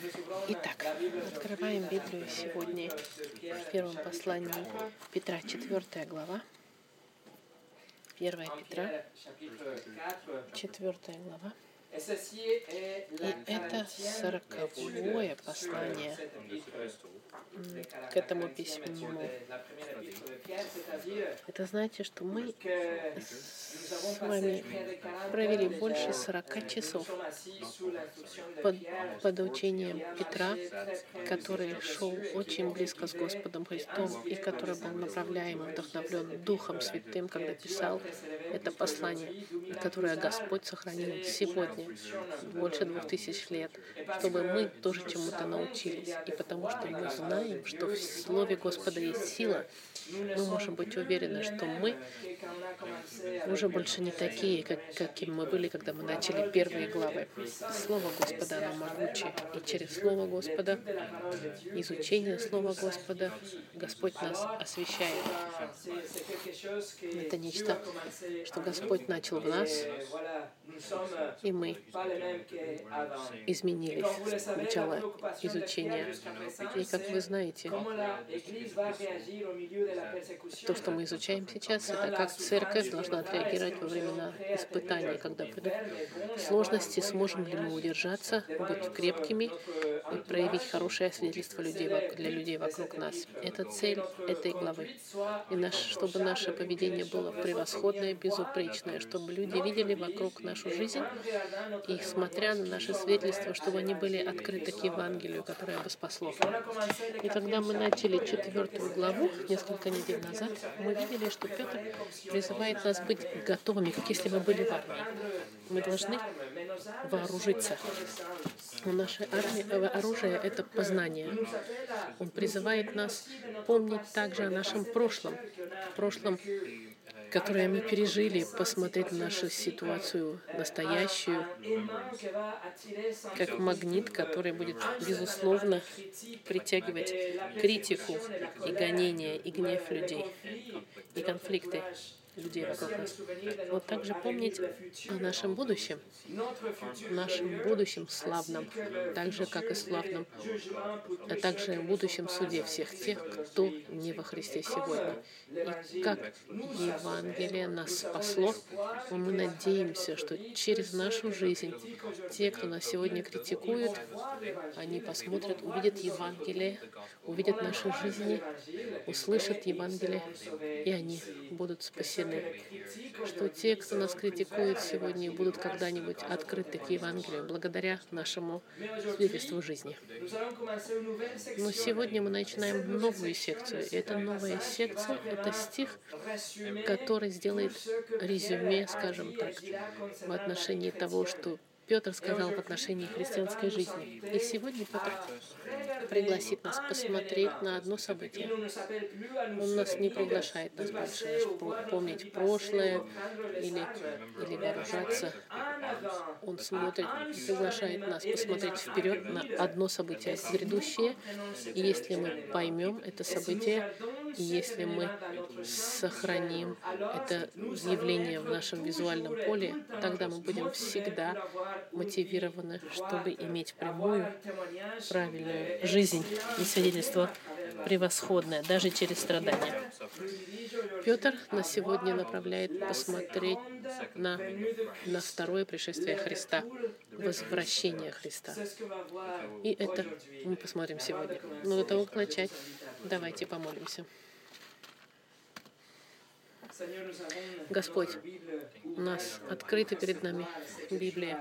Итак, открываем Библию сегодня в первом послании Петра, 4 глава. 1 Петра, 4 глава. И это 40-е послание к этому письму. Это значит, что мы с вами провели больше 40 часов под учением Петра, который шел очень близко с Господом Христом и который был направляем и вдохновлен Духом Святым, когда писал это послание, которое Господь сохранил сегодня, больше 2000 лет, чтобы мы тоже чему-то научились. И потому что мы знаем, что в Слове Господа есть сила, мы можем быть уверены, что мы уже больше не такие, какими мы были, когда мы начали первые главы. Слово Господа, оно могучее. И через Слово Господа, изучение Слова Господа, Господь нас освящает. Это нечто, что Господь начал в нас, и мы изменились с начала изучения. И как вы знаете, то, что мы изучаем сейчас, это как церковь должна отреагировать во времена испытаний, когда придут сложности, сможем ли мы удержаться, быть крепкими и проявить хорошее свидетельство для людей вокруг нас. Это цель этой главы. И чтобы наше поведение было превосходное, безупречное, чтобы люди видели вокруг нашу жизнь и, смотря на наше свидетельство, чтобы они были открыты к Евангелию, которое бы спасло. И когда мы начали 4 главу несколько недель назад, мы видели, что Петр призывает нас быть готовыми, как если мы были в армии. Мы должны вооружиться. Наше оружие — это познание. Он призывает нас помнить также о нашем прошлом, которое мы пережили, посмотреть на нашу ситуацию настоящую, как магнит, который будет, безусловно, притягивать критику и гонения, и гнев людей, и конфликты людей вокруг нас. Вот также помнить о нашем будущем славном, так же, как и славном, а также в будущем суде всех тех, кто не во Христе сегодня. И как Евангелие нас спасло, мы надеемся, что через нашу жизнь те, кто нас сегодня критикует, они посмотрят, увидят Евангелие, увидят наши жизни, услышат Евангелие, и они будут спасены. Что те, кто нас критикует сегодня, будут когда-нибудь открыты к Евангелию благодаря нашему свидетельству жизни. Но сегодня мы начинаем новую секцию. И эта новая секция — это стих, который сделает резюме, скажем так, в отношении того, что Петр сказал в отношении христианской жизни. И сегодня Петр пригласит нас посмотреть на одно событие. Он нас не приглашает нас больше помнить прошлое или вооружаться. Он приглашает нас посмотреть вперед на одно событие грядущее. И если мы поймем это событие, и если мы сохраним это явление в нашем визуальном поле, тогда мы будем всегда мотивированы, чтобы иметь прямую, правильную жизнь и свидетельство превосходное, даже через страдания. Петр нас сегодня направляет посмотреть на второе пришествие Христа, возвращение Христа. И это мы посмотрим сегодня. Но до того, как начать, давайте помолимся. Господь, у нас открыта перед нами Библия,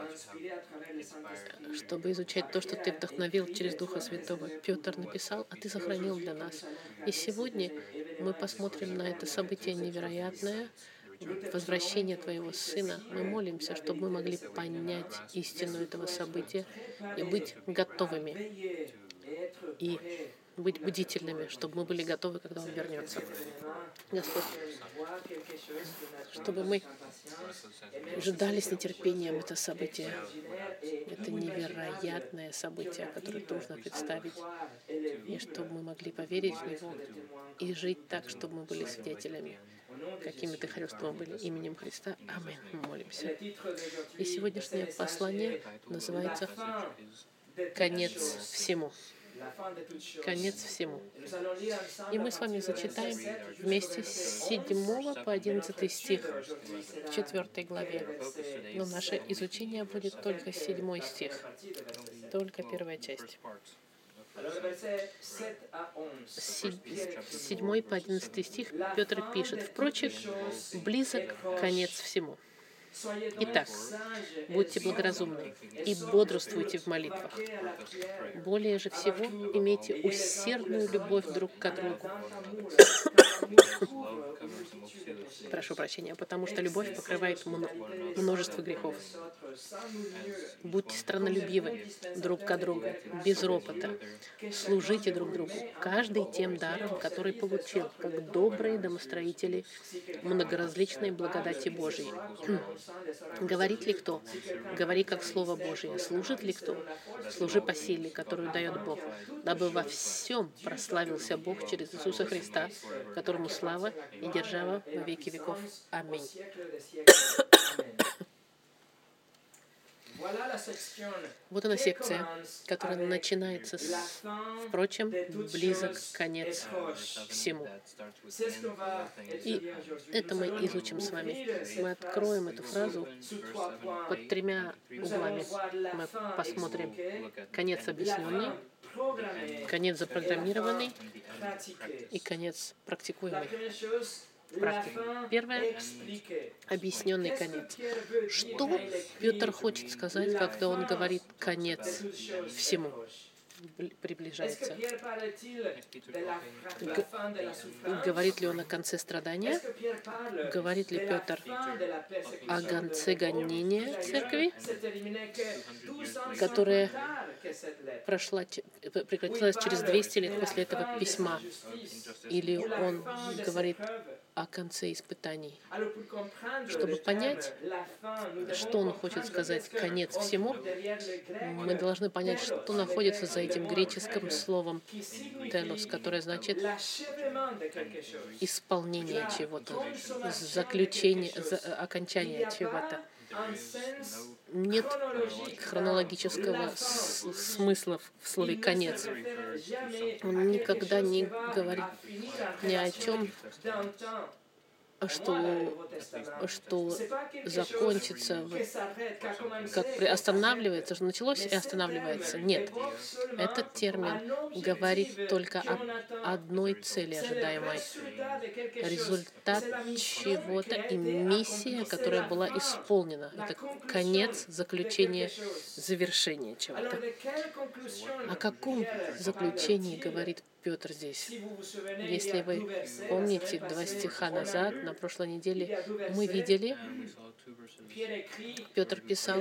чтобы изучать то, что Ты вдохновил через Духа Святого. Петр написал, а Ты сохранил для нас. И сегодня мы посмотрим на это событие невероятное, возвращение Твоего Сына. Мы молимся, чтобы мы могли понять истину этого события и быть готовыми, и быть бдительными, чтобы мы были готовы, когда Он вернется. Господь, чтобы мы ждали с нетерпением это событие. Это невероятное событие, которое трудно представить. И чтобы мы могли поверить в него и жить так, чтобы мы были свидетелями, какими Ты Христом были, именем Христа. Аминь. Мы молимся. И сегодняшнее послание называется конец всему. Конец всему. И мы с вами зачитаем вместе с 7 по 11 стих в 4 главе. Но наше изучение будет только 7 стих, только первая часть. С 7 по 11 стих Петр пишет: «Впрочем, близок конец всему. Итак, будьте благоразумны и бодрствуйте в молитвах. Более же всего имейте усердную любовь друг к другу». Прошу прощения, потому что любовь покрывает множество грехов. Будьте страннолюбивы друг к другу, без ропота. Служите друг другу, каждый тем даром, который получил, как добрые домостроители многоразличной благодати Божией. Говорит ли кто? Говори как Слово Божие. Служит ли кто? Служи по силе, которую дает Бог, дабы во всем прославился Бог через Иисуса Христа, которому слава и держава во веки веков. Аминь. Вот она секция, которая начинается с «Впрочем, близок конец всему». И это мы изучим с вами. Мы откроем эту фразу под 3 углами. Мы посмотрим конец объясненный, конец запрограммированный и конец практикуемый. Первое — объясненный конец. Что Петр хочет сказать, когда он говорит «конец всему»? Приближается. Говорит ли он о конце страдания? Говорит ли Петр о конце гонения церкви, которая прекратилась через 200 лет после этого письма? Или он говорит о конце испытаний? Чтобы понять, что он хочет сказать «конец всему», мы должны понять, что находится за этим греческим словом «телос», которое значит исполнение чего-то, заключение, окончание чего-то. Нет хронологического смысла в слове «конец». Он никогда не говорит ни о чем, что закончится, как останавливается, что началось и останавливается. Нет. Этот термин говорит только об одной цели ожидаемой. Результат чего-то и миссия, которая была исполнена. Это конец, заключение, завершение чего-то. О каком заключении говорит Петр здесь? Если вы помните 2 стиха назад, на прошлой неделе, мы видели, Петр писал,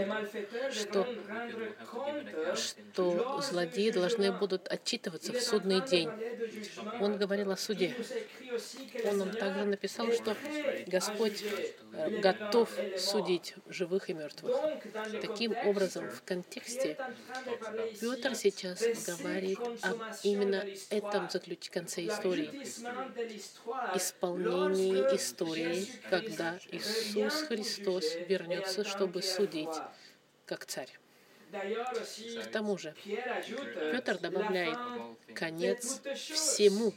что злодеи должны будут отчитываться в судный день. Он говорил о суде. Он нам также написал, что Господь готов судить живых и мертвых. Таким образом, в контексте Петр сейчас говорит об именно этом конце истории. Исполнении истории, когда Иисус Христос вернется, чтобы судить как царь. К тому же, Петр добавляет конец всему.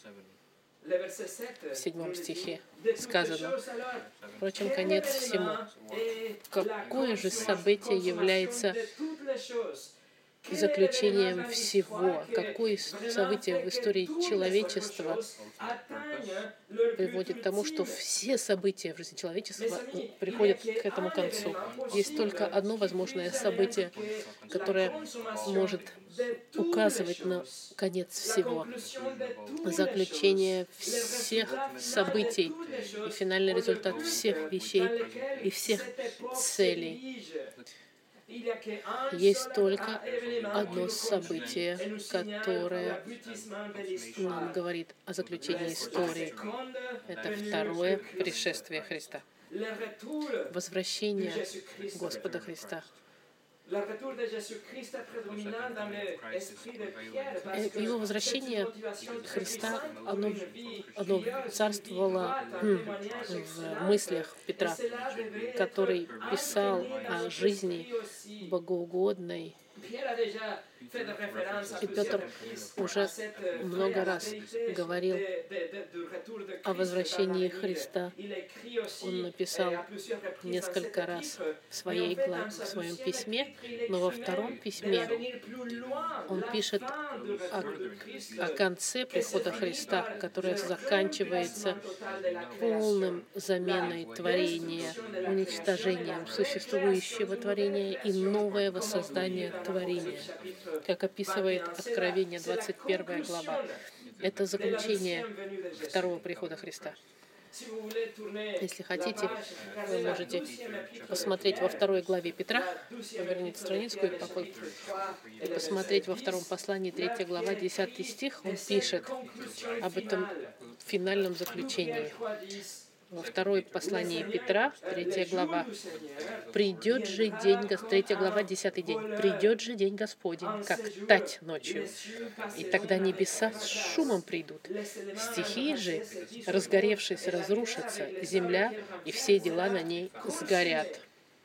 В 7 стихе сказано: «Впрочем, конец всему». Какое же событие является заключением всего? Какое событие в истории человечества приводит к тому, что все события в жизни человечества приходят к этому концу? Есть только одно возможное событие, которое может указывать на конец всего. Заключение всех событий и финальный результат всех вещей и всех целей. Есть только одно событие, которое нам говорит о заключении истории. Это второе пришествие Христа. Возвращение Господа Христа. Его возвращение Христа, оно царствовало в мыслях Петра, который писал о жизни богоугодной. И Петр уже много раз говорил о возвращении Христа. Он написал несколько раз в своем письме, но во втором письме он пишет о конце прихода Христа, которое заканчивается полным заменой творения, уничтожением существующего творения и новое воссоздание творения, как описывает Откровение 21 глава. Это заключение второго прихода Христа. Если хотите, вы можете посмотреть во второй главе Петра, поверните страницу и посмотреть во втором послании, 3 глава, 10 стих, он пишет об этом финальном заключении. Во второй послании Петра, 3 глава, «Придет же день, 3 глава, 10 день, «Придет же день Господень, как тать ночью, и тогда небеса с шумом придут, стихии же, разгоревшись, разрушатся, земля и все дела на ней сгорят».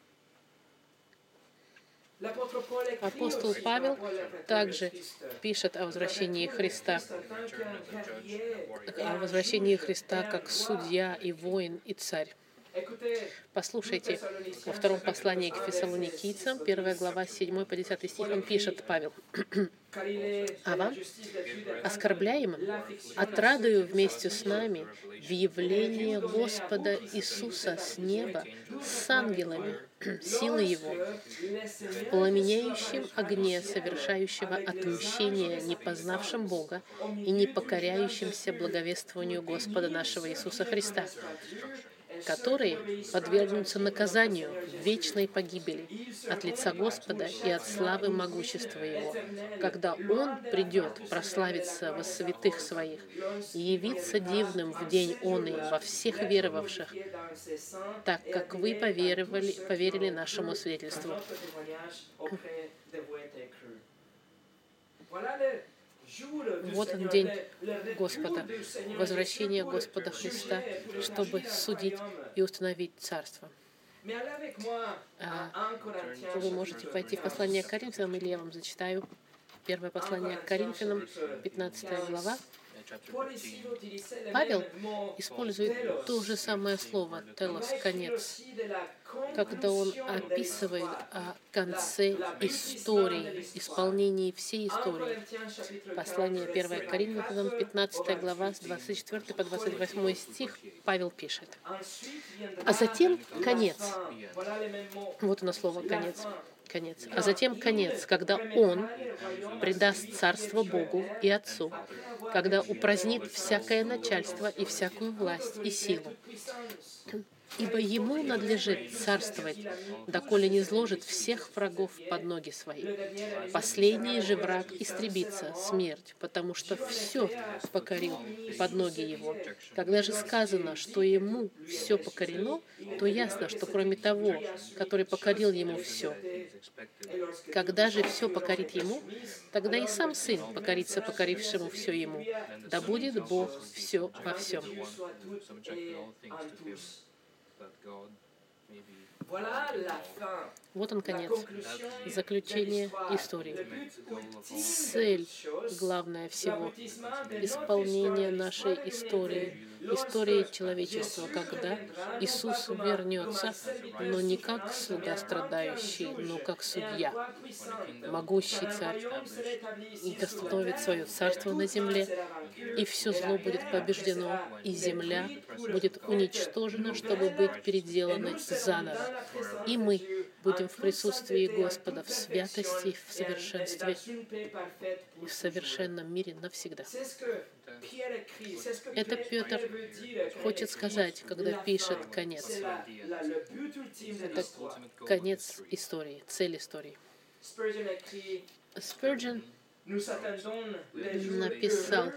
Апостол Павел также пишет о возвращении Христа, как судья и воин и царь. Послушайте, во втором послании к Фессалоникийцам, 1 глава, 7 по 10 стих, он пишет, Павел, «А вам, оскорбляемым, отрадую вместе с нами в явлении Господа Иисуса с неба с ангелами, силы Его, в пламенеющем огне совершающего отмщение непознавшим Бога и не покоряющимся благовествованию Господа нашего Иисуса Христа, которые подвергнутся наказанию вечной погибели от лица Господа и от славы могущества Его, когда Он придет прославиться во святых Своих и явиться дивным в день Он и во всех веровавших, так как вы поверили нашему свидетельству». Вот он день Господа, возвращение Господа Христа, чтобы судить и установить царство. Вы можете пойти в послание к Коринфянам, или я вам зачитаю. Первое послание к Коринфянам, 15 глава. Павел использует то же самое слово «телос», «конец», когда он описывает о конце истории, исполнении всей истории. Послание 1 Коринфянам, 15 глава, с 24 по 28 стих, Павел пишет: «А затем конец». Вот оно слово «конец». Конец. «А затем конец, когда Он предаст царство Богу и Отцу, когда упразднит всякое начальство и всякую власть и силу. Ибо Ему надлежит царствовать, доколе не изложит всех врагов под ноги Свои. Последний же враг истребится, смерть, потому что все покорил под ноги Его. Когда же сказано, что Ему все покорено, то ясно, что кроме того, который покорил Ему все. Когда же все покорит Ему, тогда и сам Сын покорится покорившему все Ему. Да будет Бог все во всем». Вот он конец, заключение истории. Цель главная всего — исполнение нашей истории, истории человечества, когда Иисус вернется, но не как слуга страдающий, но как судья, могущий царь, и восстановит свое царство на земле, и все зло будет побеждено, и земля будет уничтожена, чтобы быть переделанной заново. И мы будем в присутствии Господа в святости, в совершенстве, в совершенном мире навсегда. Это Петр хочет сказать, когда пишет «конец». Это конец истории, цель истории. Спurgeon написал: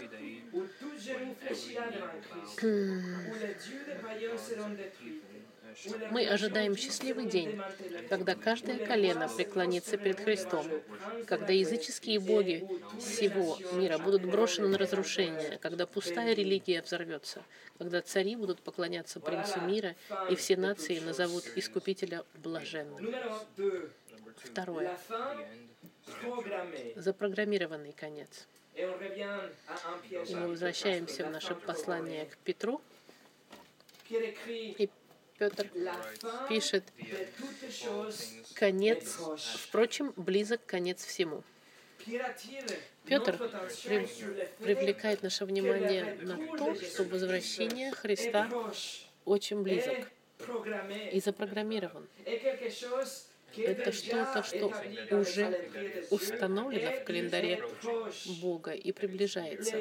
«Мы ожидаем счастливый день, когда каждое колено преклонится перед Христом, когда языческие боги всего мира будут брошены на разрушение, когда пустая религия взорвется, когда цари будут поклоняться принцу мира, и все нации назовут Искупителя блаженным». Второе. запрограммированный конец. И мы возвращаемся в наше послание к Петру. И Петр пишет: конец, впрочем, близок конец всему. Петр привлекает наше внимание на то, что возвращение Христа очень близок и запрограммирован. Это что-то, что уже установлено в календаре Бога и приближается.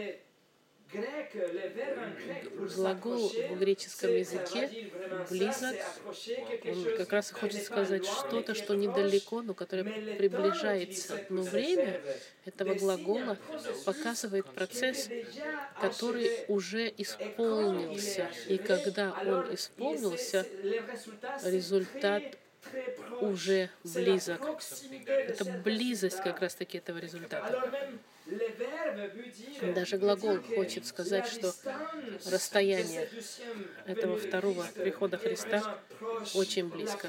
Глагол в греческом языке «близок», он как раз хочет сказать что-то, что недалеко, но которое приближается. Но время этого глагола показывает процесс, который уже исполнился. И когда он исполнился, результат уже близок. Это близость как раз-таки этого результата. Даже глагол хочет сказать, что расстояние этого второго прихода Христа очень близко,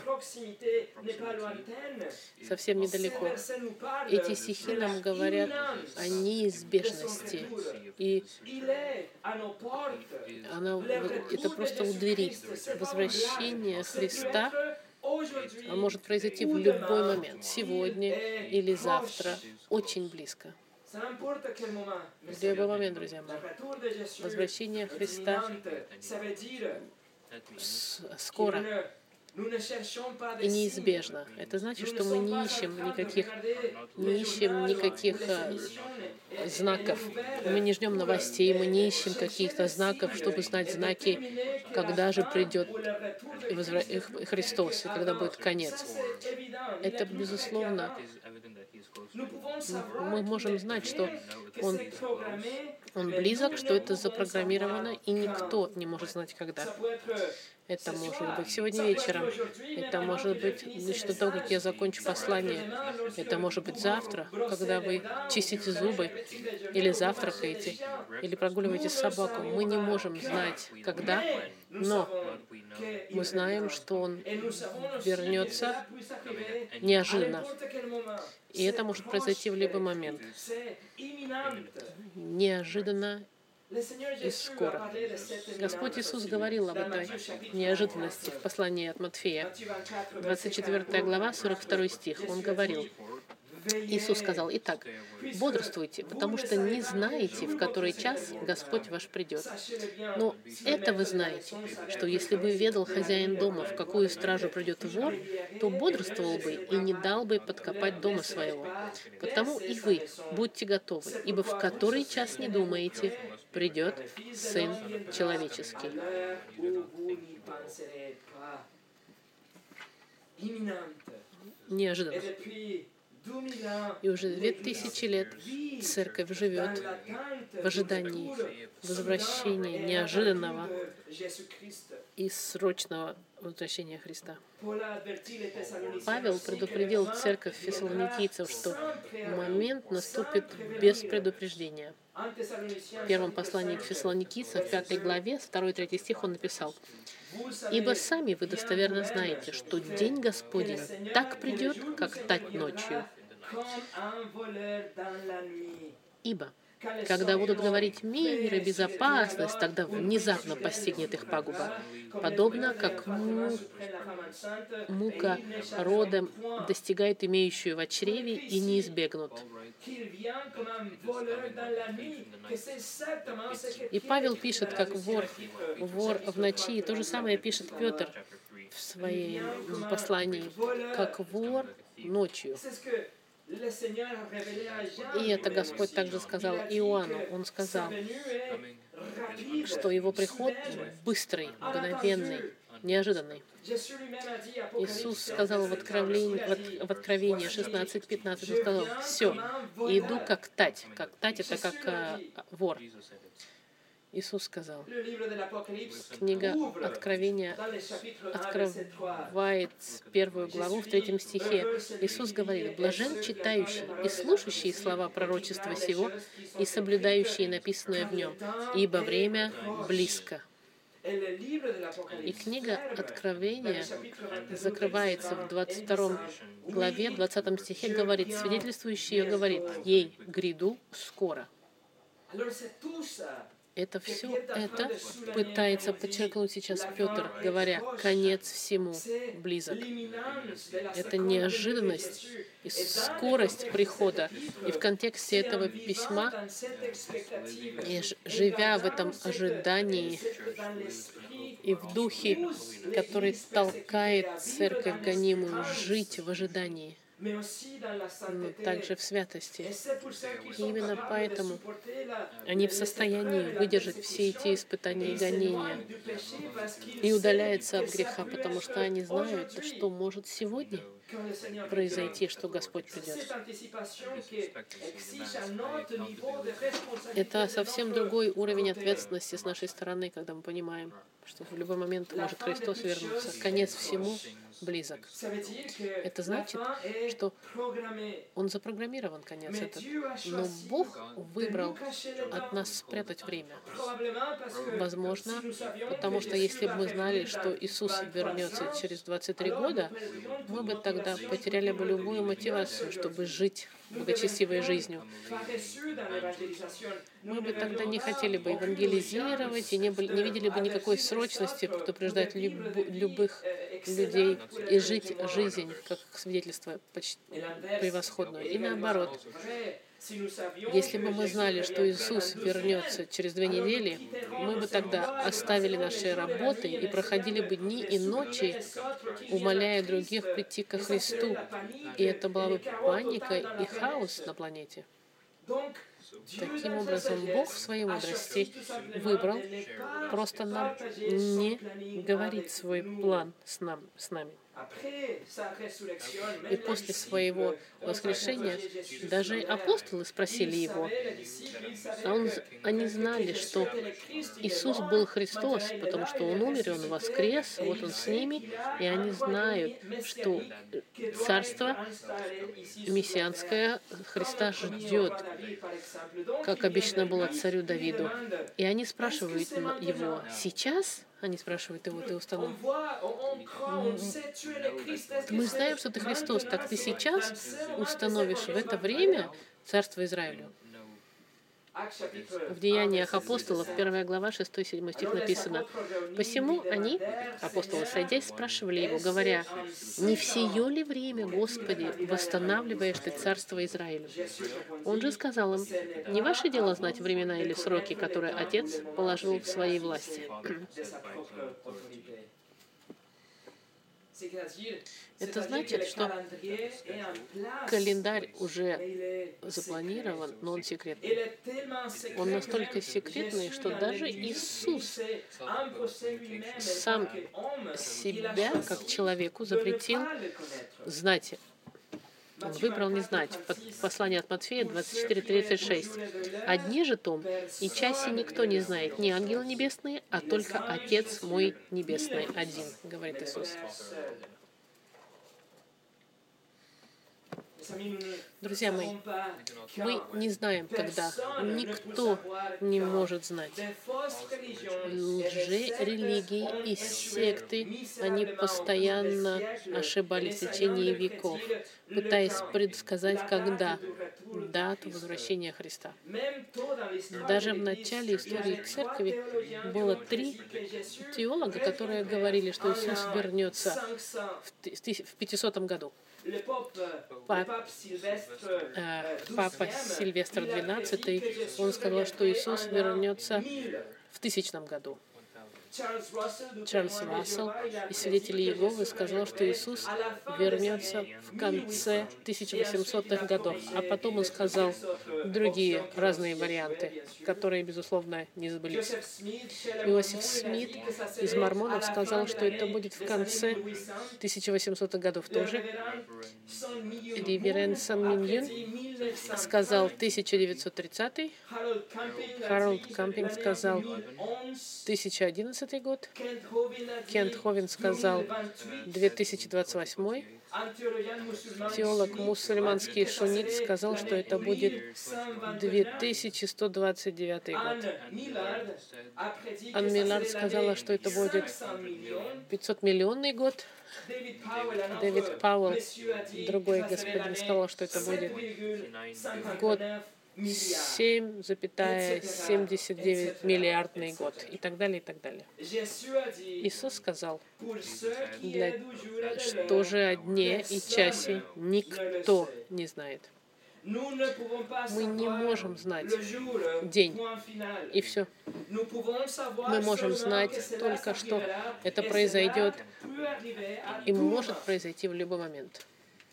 совсем недалеко. Эти стихи нам говорят о неизбежности, и это просто у двери. Возвращение Христа может произойти в любой момент, сегодня или завтра, очень близко. В любой момент, друзья мои. Возвращение Христа скоро и неизбежно. Это значит, что мы не ищем никаких знаков. Мы не ждем новостей, мы не ищем каких-то знаков, чтобы знать знаки, когда же придет Христос и когда будет конец. Это, безусловно, мы можем знать, что Он близок, что это запрограммировано, и никто не может знать, когда. Это может быть сегодня вечером, это может быть еще до того, как я закончу послание, это может быть завтра, когда вы чистите зубы, или завтракаете, или прогуливаете собаку. Мы не можем знать, когда, но мы знаем, что Он вернется неожиданно. И это может произойти в любой момент. Неожиданно и скоро. Господь Иисус говорил об этой неожиданности в послании от Матфея, 24 глава, 42 стих. Он говорил, Иисус сказал: «Итак, бодрствуйте, потому что не знаете, в который час Господь ваш придет. Но это вы знаете, что если бы ведал хозяин дома, в какую стражу придет вор, то бодрствовал бы и не дал бы подкопать дома своего. Потому и вы будьте готовы, ибо в который час не думаете, придет Сын Человеческий». Неожиданно. И уже 2000 лет Церковь живет в ожидании возвращения неожиданного и срочного возвращения Христа. Павел предупредил церковь фессалоникийцев, что момент наступит без предупреждения. В первом послании к фессалоникийцам, в 5 главе, 2-3 стих он написал: «Ибо сами вы достоверно знаете, что день Господень так придет, как тать ночью. Ибо, когда будут говорить мир и безопасность, тогда внезапно постигнет их пагуба, подобно как мука родом достигает имеющую в чреве и не избегнут». И Павел пишет, как вор в ночи, и то же самое пишет Петр в своем послании, как вор ночью. И это Господь также сказал Иоанну. Он сказал, что его приход быстрый, мгновенный, неожиданный. Иисус сказал в Откровении 16:15, Он сказал: «Все, иду как тать». Как тать — это как вор. Иисус сказал. Книга Откровения открывает 1 главу в 3 стихе. Иисус говорит: «Блажен читающий и слушающий слова пророчества сего и соблюдающий написанное в нем, ибо время близко». И книга Откровения закрывается в 22 главе, 20 стихе, говорит, свидетельствующий ее говорит, ей гряду скоро. Это все это пытается подчеркнуть сейчас Петр, говоря, конец всему близок. Это неожиданность и скорость прихода. И в контексте этого письма, и живя в этом ожидании и в духе, который толкает церковь гонимую жить в ожидании, но также в святости. И именно поэтому они в состоянии выдержать все эти испытания и гонения и удаляются от греха, потому что они знают, что может сегодня произойти, что Господь придет. Это совсем другой уровень ответственности с нашей стороны, когда мы понимаем, что в любой момент может Христос вернуться. Конец всему близок. Это значит, что Он запрограммирован, конец этот. Но Бог выбрал от нас спрятать время. Возможно, потому что если бы мы знали, что Иисус вернется через 23 года, мы бы тогда потеряли бы любую мотивацию, чтобы жить благочестивой жизнью. Мы бы тогда не хотели бы евангелизировать и не видели бы никакой срочности предупреждать любых людей и жить жизнь, как свидетельство превосходное. И наоборот, если бы мы знали, что Иисус вернется через 2 недели, мы бы тогда оставили наши работы и проходили бы дни и ночи, умоляя других прийти ко Христу. И это была бы паника и хаос на планете. Таким образом, Бог в своей мудрости выбрал просто нам не говорить свой план с нами. И после своего воскрешения даже апостолы спросили его. Они знали, что Иисус был Христос, потому что Он умер, и Он воскрес, вот Он с ними, и они знают, что Царство мессианское Христа ждет, как обещано было царю Давиду. И они спрашивают его, сейчас? Они спрашивают его, ты установил? Мы знаем, что ты Христос, так ты сейчас установишь в это время Царство Израилю. В Деяниях апостолов, 1 глава, 6-7 стих написано. «Посему они, апостолы, сойдясь, спрашивали его, говоря, «Не в сие ли время, Господи, восстанавливаешь ты царство Израилю?» Он же сказал им, «Не ваше дело знать времена или сроки, которые Отец положил в своей власти». Это значит, что календарь уже запланирован, но он секретный. Он настолько секретный, что даже Иисус сам себя, как человеку, запретил знать. Он выбрал не знать. В послании от Матфея 24:36. «Одни же том, и часи никто не знает, ни ангелы небесные, а только Отец мой небесный один», говорит Иисус. Друзья мои, мы не знаем, когда. Никто не может знать. Лжерелигии и секты, они постоянно ошибались в течение веков, пытаясь предсказать, когда дату возвращения Христа. Даже в начале истории церкви было 3 теолога, которые говорили, что Иисус вернется в 500 году. Папа Сильвестр XII, он сказал, что Иисус вернется в 1000 году. Чарльз Рассел из свидетелей Иеговы сказал, что Иисус вернется в конце 1800-х годов. А потом он сказал другие разные варианты, которые, безусловно, не сбылись. Иосиф Смит из Мормонов сказал, что это будет в конце 1800-х годов тоже. Реверенд Сан Миньон сказал 1930-й. Харолд Кампинг сказал 2011 год. Кент Ховин сказал 2028. Теолог мусульманский Шунит сказал, что это будет 2129 год. Ан Миллард сказала, что это будет 500-миллионный год. Дэвид Пауэлл, другой господин, сказал, что это будет год 7,79 миллиардный год и так далее, и так далее. Иисус сказал, что же о дне и часе никто не знает. Мы не можем знать день, и все. Мы можем знать только, что это произойдет и может произойти в любой момент.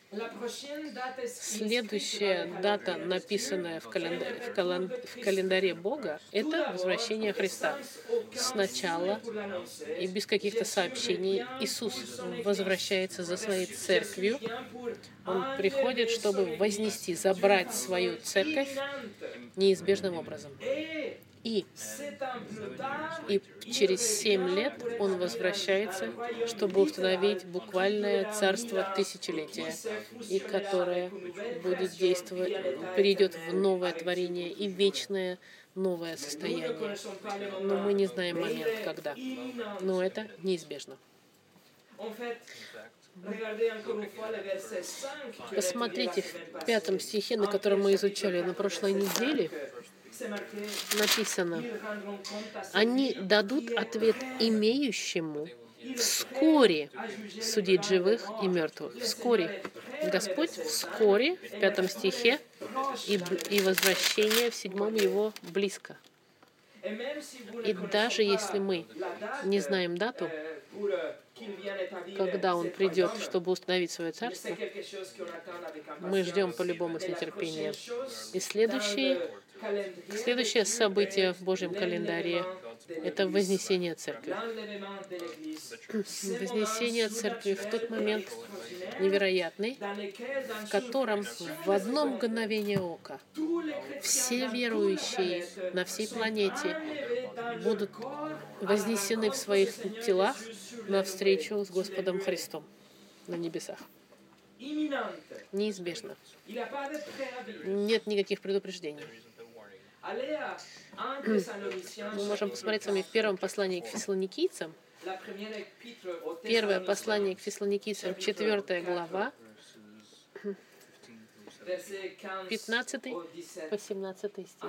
Следующая дата, написанная в календаре Бога, это возвращение Христа. Сначала и без каких-то сообщений Иисус возвращается за своей церковью. Он приходит, чтобы вознести, забрать свою церковь неизбежным образом. И через 7 лет он возвращается, чтобы установить буквальное царство тысячелетия, и которое будет действовать, перейдет в новое творение и вечное новое состояние. Но мы не знаем момент, когда. Но это неизбежно. Посмотрите в 5 стихе, на котором мы изучали на прошлой неделе, написано: «Они дадут ответ имеющему вскоре судить живых и мертвых». Вскоре. Господь вскоре, в 5 стихе, и возвращение в 7 его близко. И даже если мы не знаем дату, когда он придет, чтобы установить свое царство, мы ждем по-любому с нетерпением. И следующее событие в Божьем календаре — это вознесение церкви. Вознесение церкви в тот момент невероятный, в котором в одно мгновение ока все верующие на всей планете будут вознесены в своих телах навстречу с Господом Христом на небесах. Неизбежно. Нет никаких предупреждений. Мы можем посмотреть с вами в первом послании к фессалоникийцам. Первое послание к фессалоникийцам, 4 глава, 15 по 17 стих.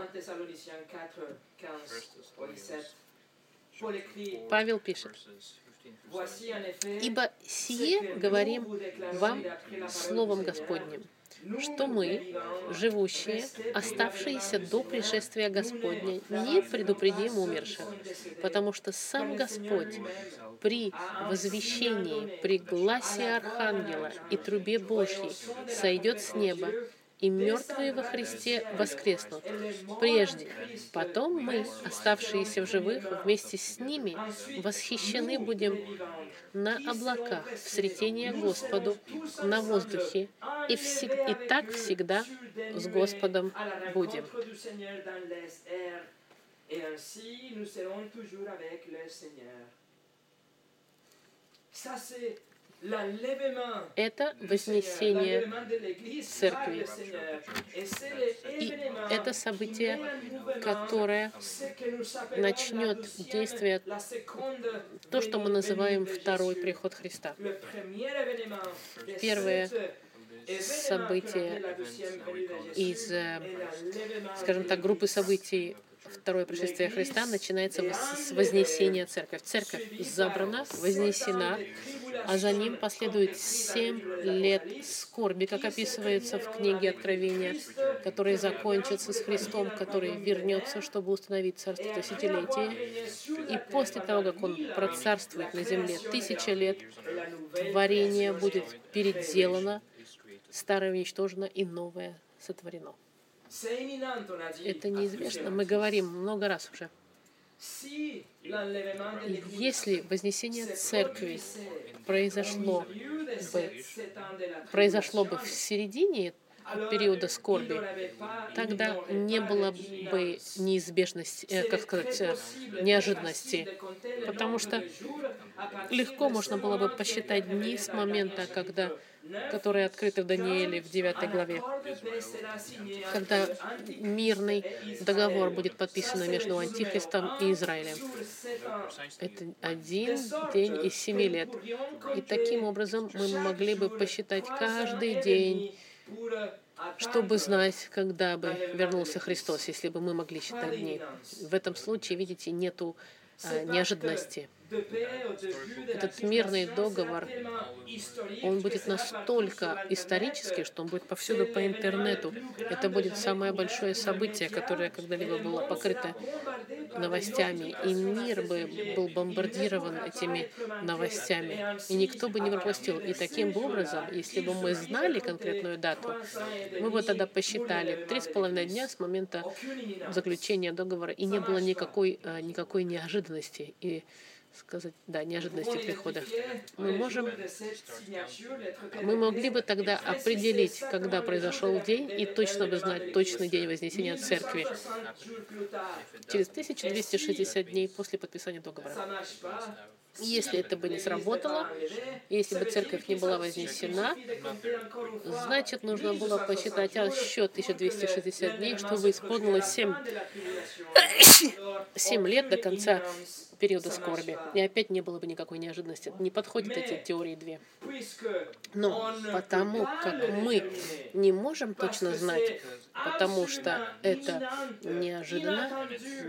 Павел пишет: «Ибо сие говорим вам Словом Господним, что мы, живущие, оставшиеся до пришествия Господня, не предупредим умерших, потому что сам Господь при возвещении, при гласе Архангела и трубе Божьей сойдет с неба, и мертвые во Христе воскреснут прежде. Потом мы, оставшиеся в живых, вместе с ними восхищены будем на облаках в сретение Господу на воздухе, и так всегда с Господом будем». Это вознесение церкви. И это событие, которое начнет действие, то, что мы называем второй приход Христа. Первое событие из, скажем так, группы событий второе пришествие Христа начинается с вознесения церкви. Церковь забрана, вознесена, а за ним последует 7 лет скорби, как описывается в книге Откровения, которые закончатся с Христом, который вернется, чтобы установить царство тысячелетия. И после того, как он процарствует на земле 1000 лет, творение будет переделано, старое уничтожено и новое сотворено. Это неизвестно. Мы говорим много раз уже. Если вознесение церкви произошло бы в середине периода скорби, тогда не было бы неожиданности, потому что легко можно было бы посчитать дни с момента, когда которые открыты в Данииле в 9 главе, когда мирный договор будет подписан между Антихристом и Израилем. Это 1 день из 7 лет. И таким образом мы могли бы посчитать каждый день, чтобы знать, когда бы вернулся Христос, если бы мы могли считать дни. В этом случае, видите, нету неожиданности. Этот мирный договор, он будет настолько исторический, что он будет повсюду по интернету. Это будет самое большое событие, которое когда-либо было покрыто новостями. И мир бы был бомбардирован этими новостями. И никто бы не пропустил. И таким образом, если бы мы знали конкретную дату, мы бы тогда посчитали 3,5 дня с момента заключения договора, и не было никакой неожиданности. И сказать, да, неожиданности прихода. Мы могли бы тогда определить, когда произошел день, и точно бы знать точный день Вознесения Церкви через 1260 дней после подписания договора. Если это бы не сработало, если бы церковь не была вознесена, значит, нужно было посчитать еще 1260 дней, чтобы исполнилось 7 лет до конца периода скорби. И опять не было бы никакой неожиданности. Не подходят эти теории две. Но потому как мы не можем точно знать, потому что это неожиданно,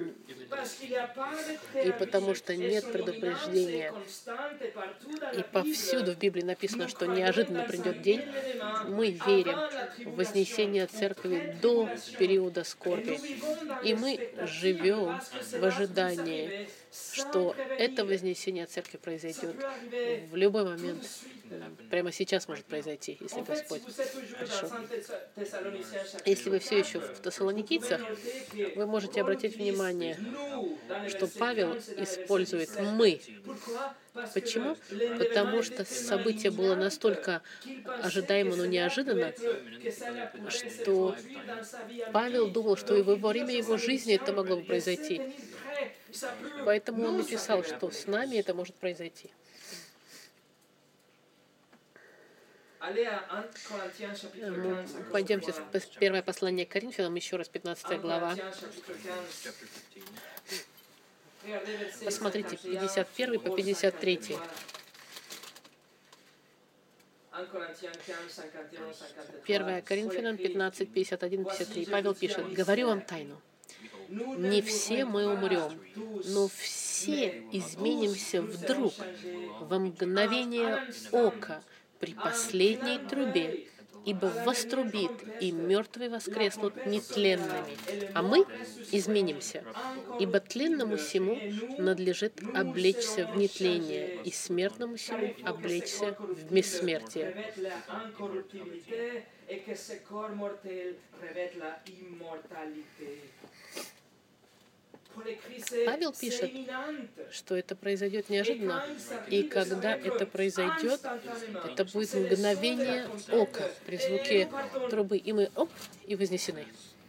и потому что нет предупреждения, и повсюду в Библии написано, что неожиданно придет день, мы верим в вознесение церкви до периода скорби. И мы живем в ожидании, что это вознесение церкви произойдет в любой момент. Прямо сейчас может произойти, если Господь пришел. Если вы все еще в Тессалоникийцах, вы можете обратить внимание, что Павел использует «мы». Почему? Потому что событие было настолько ожидаемо, но неожиданно, что Павел думал, что и во время его жизни это могло бы произойти. Поэтому он написал, что с нами это может произойти. Пойдемте в первое послание к Коринфянам, еще раз, 15 глава. Посмотрите, 51 по 53. 1 Коринфянам 15, 51, 53. Павел пишет: «Говорю вам тайну. Не все мы умрем, но все изменимся вдруг, во мгновение ока, при последней трубе, ибо вострубит, и мертвые воскреснут нетленными, а мы изменимся, ибо тленному сему надлежит облечься в нетление, и смертному сему облечься в бессмертие». Павел пишет, что это произойдет неожиданно, и когда это произойдет, это будет мгновение ока при звуке трубы, и мы и вознесены.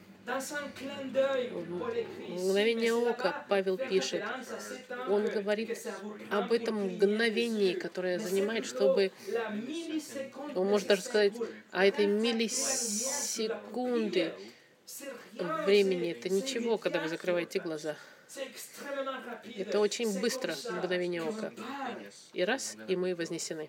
Мгновение ока, Павел пишет, он говорит об этом мгновении, которое занимает, чтобы, он может даже сказать, о этой миллисекунды времени. Это ничего, когда вы закрываете глаза. Это очень быстро, мгновение ока. И раз, и мы вознесены.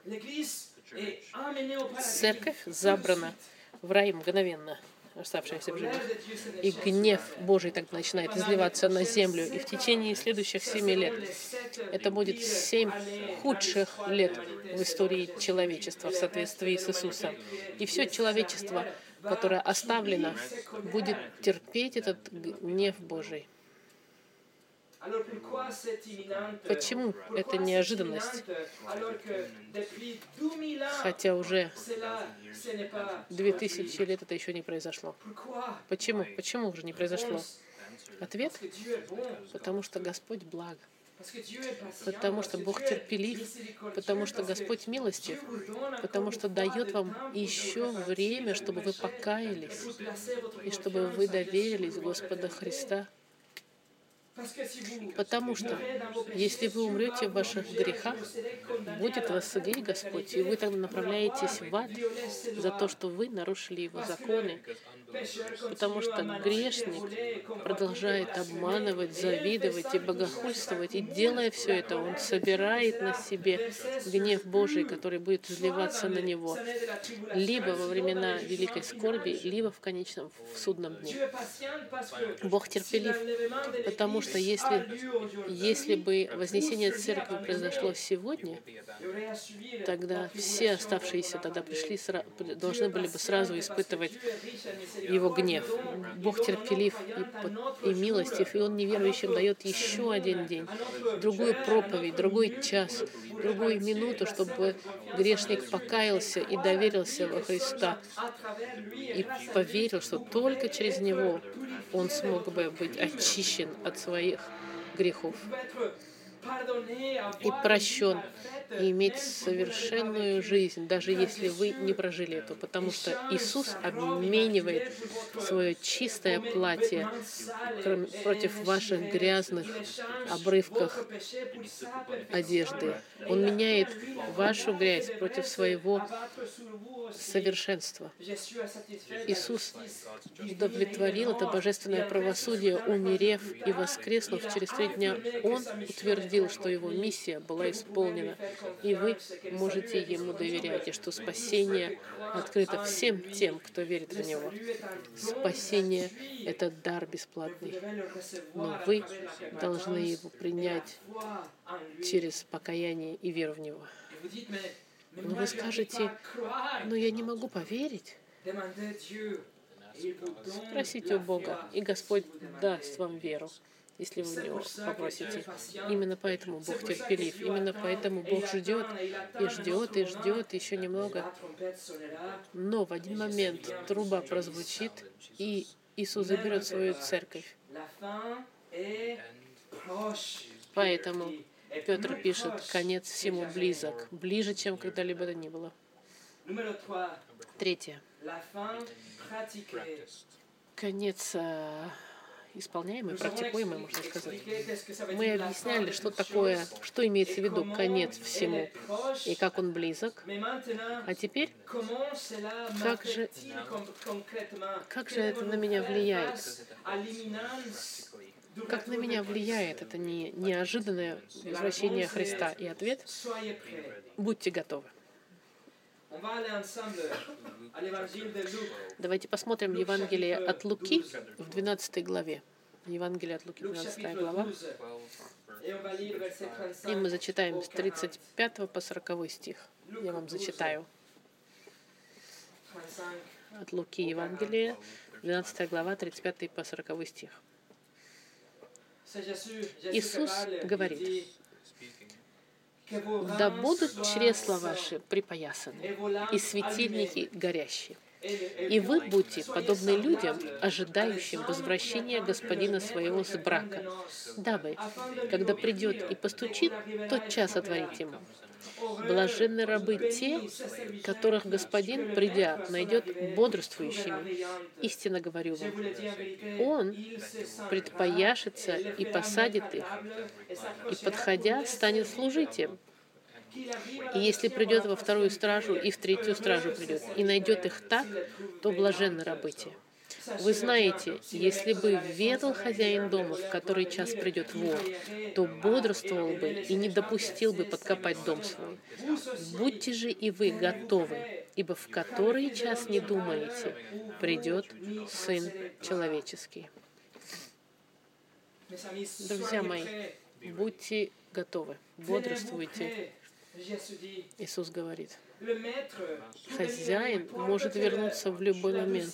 Церковь забрана в рай мгновенно, оставшаяся в живых. И гнев Божий так начинает изливаться на землю. И в течение следующих 7 лет, это будет 7 худших лет в истории человечества в соответствии с Иисусом. И все человечество, которое оставлено, будет терпеть этот гнев Божий. Почему это неожиданность? Хотя уже 2000 лет это еще не произошло. Почему? Почему уже не произошло? Ответ? Потому что Господь благ. Потому что Бог терпелив, потому что Господь милостив, потому что дает вам еще время, чтобы вы покаялись и чтобы вы доверились Господу Христа. Потому что если вы умрете в ваших грехах, будет вас судить Господь, и вы тогда направляетесь в ад за то, что вы нарушили Его законы, потому что грешник продолжает обманывать, завидовать и богохульствовать, и делая все это, он собирает на себе гнев Божий, который будет изливаться на него либо во времена великой скорби, либо в конечном в судном дне. Бог терпелив, потому что если бы вознесение церкви произошло сегодня, тогда все оставшиеся тогда должны были бы сразу испытывать Его гнев. Бог терпелив и милостив, и Он неверующим дает еще один день, другую проповедь, другой час, другую минуту, чтобы грешник покаялся и доверился во Христа и поверил, что только через Него он смог бы быть очищен от своих грехов и прощен, и иметь совершенную жизнь, даже если вы не прожили эту, потому что Иисус обменивает свое чистое платье против ваших грязных обрывков одежды. Он меняет вашу грязь против своего совершенства. Иисус удовлетворил это божественное правосудие, умерев и воскреснув через 3 дня. Он утвердил, что Его миссия была исполнена, и вы можете Ему доверять, и что спасение открыто всем тем, кто верит в Него. Спасение — это дар бесплатный, но вы должны его принять через покаяние и веру в Него. Но вы скажете: но я не могу поверить. Спросите у Бога, и Господь даст вам веру, если вы у Него попросите. Именно поэтому Бог терпелив, именно поэтому Бог ждет, и ждет, и ждет еще немного. Но в один момент труба прозвучит, и Иисус заберет свою церковь. Поэтому Петр пишет: конец всему близок, ближе, чем когда-либо то ни было. 3. Конец исполняемый, практикуемый, можно сказать. Мы объясняли, что такое, что имеется в виду конец всему и как он близок. А теперь, как же это на меня влияет? Как на меня влияет это неожиданное возвращение Христа? И ответ: будьте готовы. Давайте посмотрим Евангелие от Луки в 12 главе. Евангелие от Луки, 12 глава. И мы зачитаем с 35 по 40 стих. Я вам зачитаю. От Луки Евангелие, 12 глава, 35 по 40 стих. Иисус говорит: «Да будут чресла ваши припоясаны, и светильники горящие. И вы будьте подобны людям, ожидающим возвращения господина своего с брака, дабы, когда придет и постучит, тотчас отворить ему. Блаженны рабы те, которых господин, придя, найдет бодрствующими. Истинно говорю вам, он предпояшется и посадит их, и, подходя, станет служить им. И если придет во вторую стражу и в третью стражу придет, и найдет их так, то блаженны рабы те. Вы знаете, если бы ведал хозяин дома, в который час придет вор, то бодрствовал бы и не допустил бы подкопать дом свой. Будьте же и вы готовы, ибо в который час не думаете, придет Сын Человеческий». Друзья мои, будьте готовы, бодрствуйте. Иисус говорит, хозяин может вернуться в любой момент.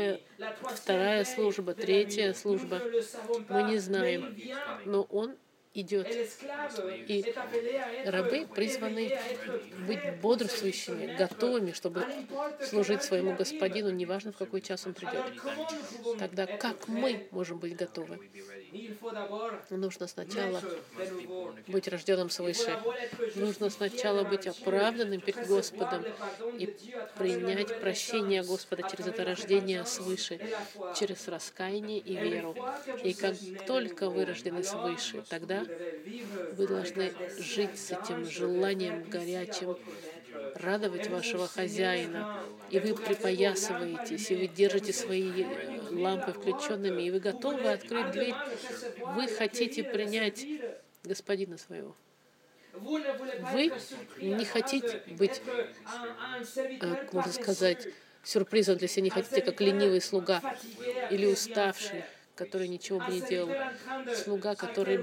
Вторая служба, третья служба, мы не знаем, но он идет. И рабы призваны быть бодрствующими, готовыми, чтобы служить своему господину, неважно, в какой час он придет. Тогда как мы можем быть готовы? Нужно сначала быть рожденным свыше. Нужно сначала быть оправданным перед Господом и принять прощение Господа через это рождение свыше, через раскаяние и веру. И как только вы рождены свыше, тогда вы должны жить с этим желанием горячим, радовать вашего хозяина, и вы припоясываетесь, и вы держите свои лампы включенными, и вы готовы открыть дверь. Вы хотите принять господина своего. Вы не хотите быть, как можно сказать, сюрпризом для себя, не хотите, как ленивый слуга или уставший, который ничего бы не делал. Слуга, который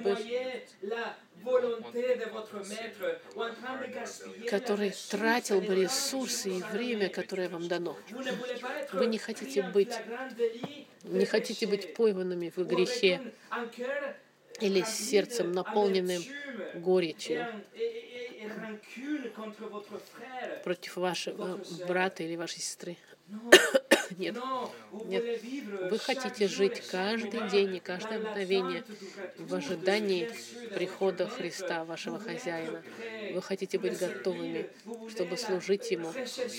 тратил бы ресурсы и время, которое вам дано. Вы не хотите быть пойманными в грехе или с сердцем, наполненным горечью против вашего брата или вашей сестры. Нет, нет. Вы хотите жить каждый день и каждое мгновение в ожидании прихода Христа, вашего хозяина. Вы хотите быть готовыми, чтобы служить Ему.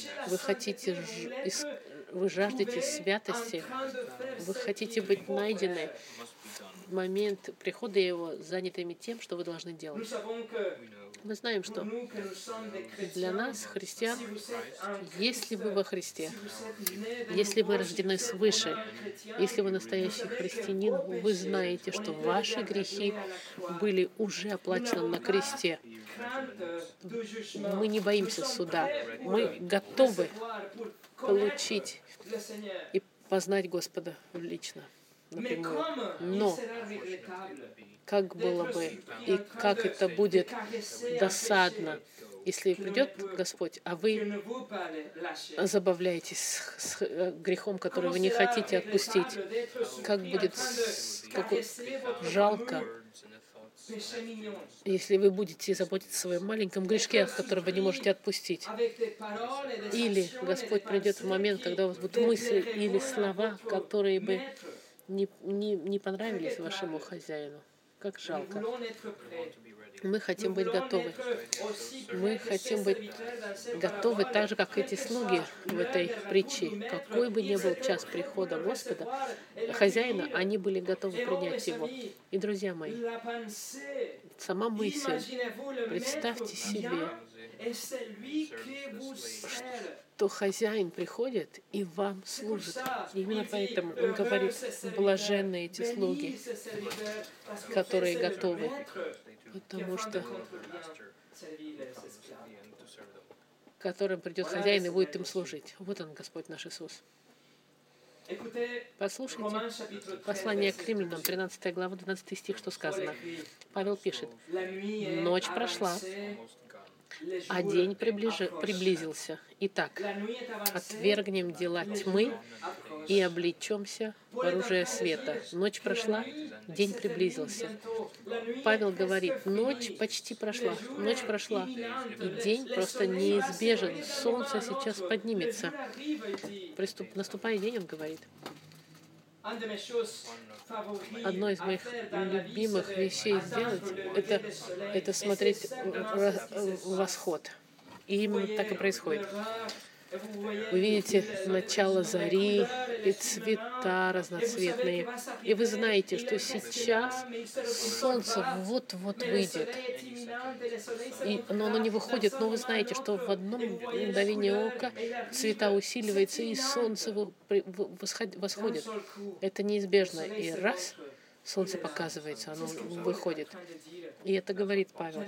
Вы жаждете святости. Вы хотите быть найдены в момент прихода Его, занятыми тем, что вы должны делать. Мы знаем, что для нас, христиан, если вы во Христе, если вы рождены свыше, если вы настоящий христианин, вы знаете, что ваши грехи были уже оплачены на кресте. Мы не боимся суда. Мы готовы получить и познать Господа лично, напрямую. Но как было бы и как это будет досадно, если придет Господь, а вы забавляетесь с грехом, который вы не хотите отпустить. Как будет жалко, если вы будете заботиться о своем маленьком грешке, который вы не можете отпустить. Или Господь придет в момент, когда у вас будут мысли или слова, которые бы не понравились вашему хозяину. Как жалко. Мы хотим быть готовы. Мы хотим быть готовы так же, как эти слуги в этой притче. Какой бы ни был час прихода Господа, хозяина, они были готовы принять Его. И, друзья мои, сама мысль, представьте себе, что хозяин приходит и вам служит. И именно поэтому он говорит, блаженны эти слуги, которые готовы, потому что которым придет хозяин и будет им служить. Вот он, Господь наш Иисус. Послушайте послание к Римлянам, 13 глава, 12 стих, что сказано. Павел пишет: «Ночь прошла, а день приблизился. Итак, отвергнем дела тьмы и облечемся в оружие света». Ночь прошла, день приблизился. Павел говорит, ночь почти прошла, и день просто неизбежен. Солнце сейчас поднимется. Наступает день, он говорит. Одно из моих любимых вещей сделать — это смотреть восход. И именно так и происходит. Вы видите начало зари и цвета разноцветные. И вы знаете, что сейчас солнце вот-вот выйдет. Но оно не выходит, но вы знаете, что в одно мгновение ока цвета усиливаются, и солнце восходит. Это неизбежно. И раз солнце показывается, оно выходит. И это говорит Павел.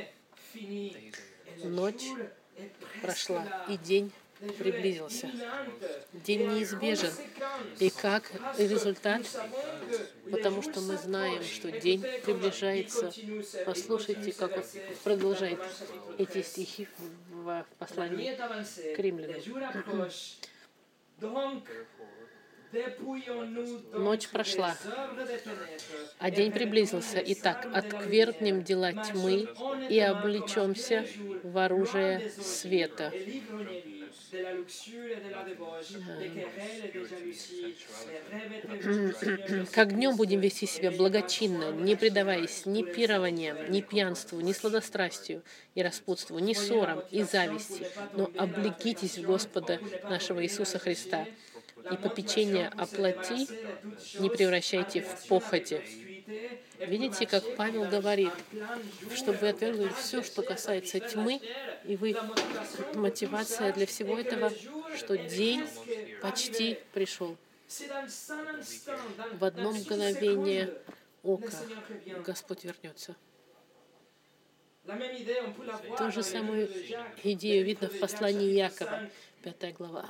Ночь прошла, и день приблизился. День неизбежен. И как результат? Потому что мы знаем, что день приближается. Послушайте, как он продолжает эти стихи в послании к Римлянам. Ночь прошла, а день приблизился. Итак, отвергнем дела тьмы и облечемся в оружие света. Как днем будем вести себя благочинно, не предаваясь ни пированиям, ни пьянству, ни сладострастию и распутству, ни ссорам и зависти, но облекитесь в Господа нашего Иисуса Христа, и попечение о плоти не превращайте в похоти. Видите, как Павел говорит, чтобы вы отвергли все, что касается тьмы, и вы мотивация для всего этого, что день почти пришел. В одно мгновение ока Господь вернется. Ту же самую идею видно в послании Иакова, 5 глава.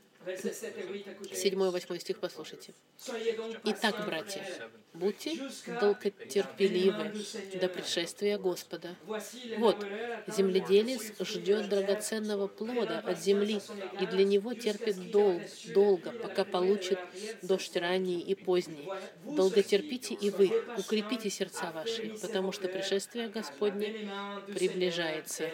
7-8 стих послушайте. «Итак, братья, будьте долготерпеливы до пришествия Господа. Вот, земледелец ждет драгоценного плода от земли, и для него терпит долго, пока получит дождь ранний и поздний. Долготерпите и вы, укрепите сердца ваши, потому что пришествие Господне приближается».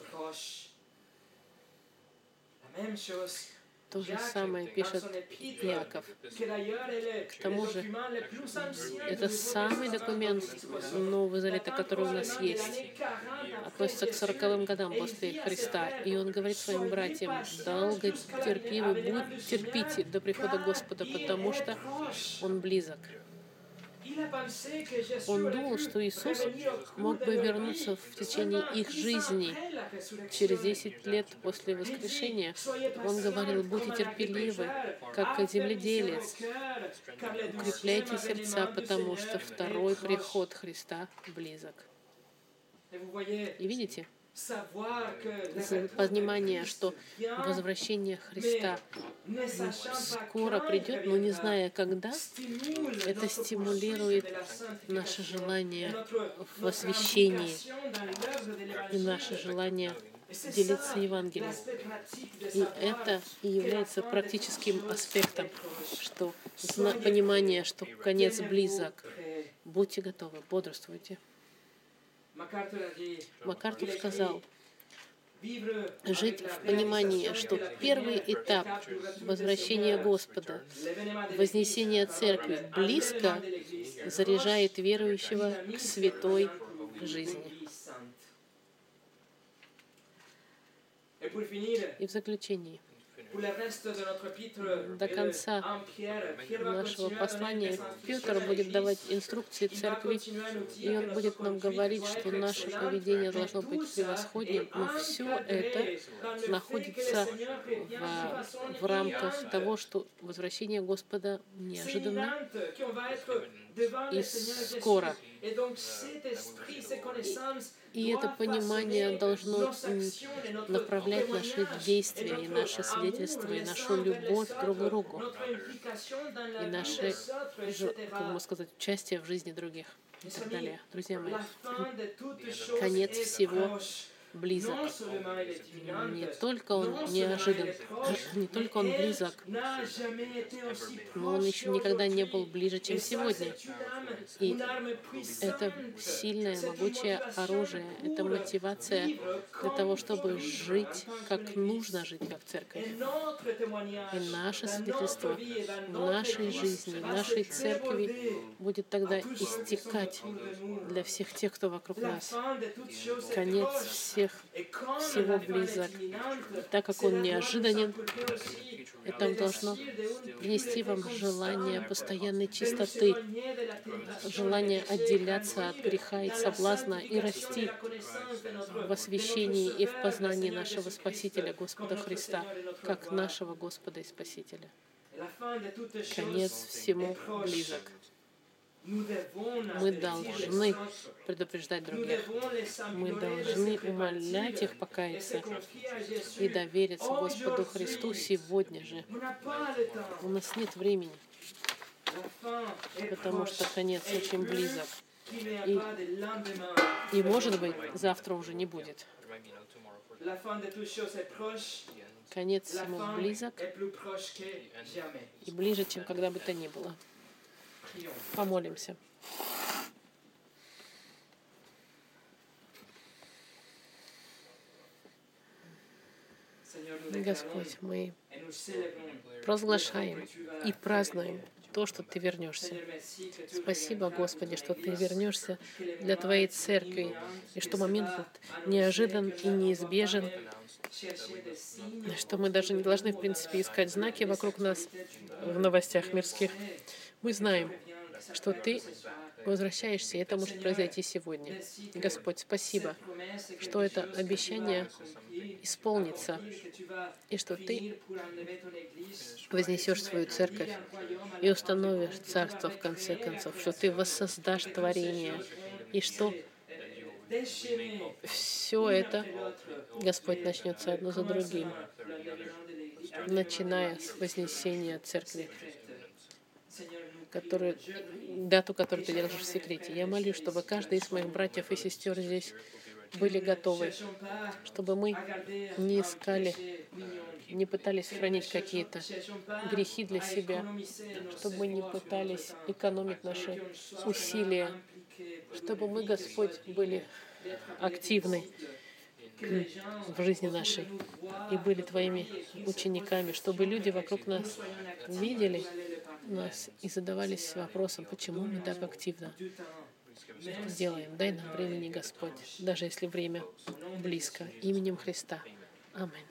То же самое пишет Иаков. К тому же, это самый документ Нового Завета, который у нас есть, относится к 40-м годам после Христа. И он говорит своим братьям: долго терпимы, терпите до прихода Господа, потому что Он близок. Он думал, что Иисус мог бы вернуться в течение их жизни через 10 лет после воскрешения. Он говорил: будьте терпеливы, как земледелец. Укрепляйте сердца, потому что второй приход Христа близок. И видите? Понимание, что возвращение Христа скоро придет, но не зная когда, это стимулирует наше желание в освящении и наше желание делиться Евангелием. И это и является практическим аспектом, что понимание, что конец близок. Будьте готовы, бодрствуйте. МакАртур сказал: жить в понимании, что первый этап возвращения Господа, вознесения Церкви близко, заряжает верующего к святой жизни. И в заключении, до конца нашего послания Петр будет давать инструкции церкви, и он будет нам говорить, что наше поведение должно быть превосходным, но все это находится в рамках того, что возвращение Господа неожиданно и скоро. И это понимание должно направлять наши действия, и наше свидетельство, и нашу любовь друг к другу, и наше, как можно сказать, участие в жизни других и так далее. Друзья мои, конец всего близок. Не только он неожидан, не только он близок, но он еще никогда не был ближе, чем сегодня. И это сильное, могучее оружие, это мотивация для того, чтобы жить, как нужно жить, как церковь. И наше свидетельство в нашей жизни, в нашей церкви будет тогда истекать для всех тех, кто вокруг нас. Конец всего близок. И так как он неожиданен, это должно принести вам желание постоянной чистоты, желание отделяться от греха и соблазна и расти в освящении и в познании нашего Спасителя, Господа Христа, как нашего Господа и Спасителя. Конец всему близок. Мы должны предупреждать других. Мы должны умолять их покаяться и довериться Господу Христу сегодня же. У нас нет времени, потому что конец очень близок. И может быть, завтра уже не будет. конец всему близок и ближе, чем когда бы то ни было. Помолимся. Господь, мы провозглашаем и празднуем то, что Ты вернешься. Спасибо, Господи, что Ты вернешься для Твоей церкви, и что момент этот неожидан и неизбежен, что мы даже не должны, в принципе, искать знаки вокруг нас в новостях мирских. Мы знаем, что Ты возвращаешься, и это может произойти сегодня. Господь, спасибо, что это обещание исполнится, и что Ты вознесешь свою церковь и установишь царство в конце концов, что Ты воссоздашь творение, и что все это, Господь, начнется одно за другим, начиная с вознесения церкви, дату, которую Ты держишь в секрете. Я молюсь, чтобы каждый из моих братьев и сестер здесь были готовы, чтобы мы не искали, не пытались хранить какие-то грехи для себя, чтобы мы не пытались экономить наши усилия, чтобы мы, Господь, были активны в жизни нашей и были Твоими учениками, чтобы люди вокруг нас видели нас и задавались вопросом, почему мы так активно это делаем. Дай нам времени, Господь, даже если время близко. Именем Христа. Аминь.